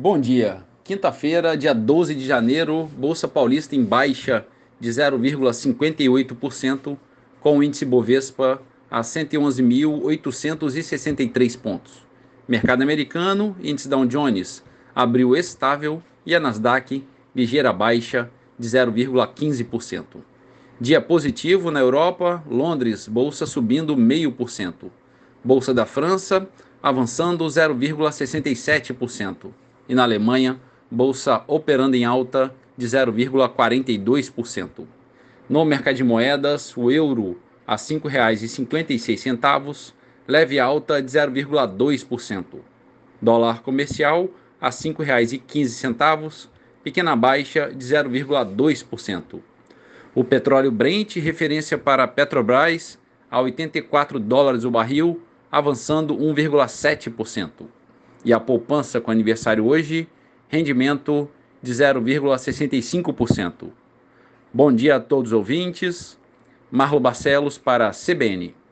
Bom dia. Quinta-feira, dia 12 de janeiro, Bolsa Paulista em baixa de 0,58%, com o índice Bovespa a 111.863 pontos. Mercado americano, índice Dow Jones abriu estável e a Nasdaq ligeira baixa de 0,15%. Dia positivo na Europa, Londres, bolsa subindo 0,5%. Bolsa da França avançando 0,67%. E na Alemanha, bolsa operando em alta de 0,42%. No mercado de moedas, o euro a R$ 5,56, leve alta de 0,2%. Dólar comercial a R$ 5,15, pequena baixa de 0,2%. O petróleo Brent, referência para a Petrobras, a $84 o barril, avançando 1,7%. E a poupança com aniversário hoje, rendimento de 0,65%. Bom dia a todos os ouvintes. Marlo Barcelos para a CBN.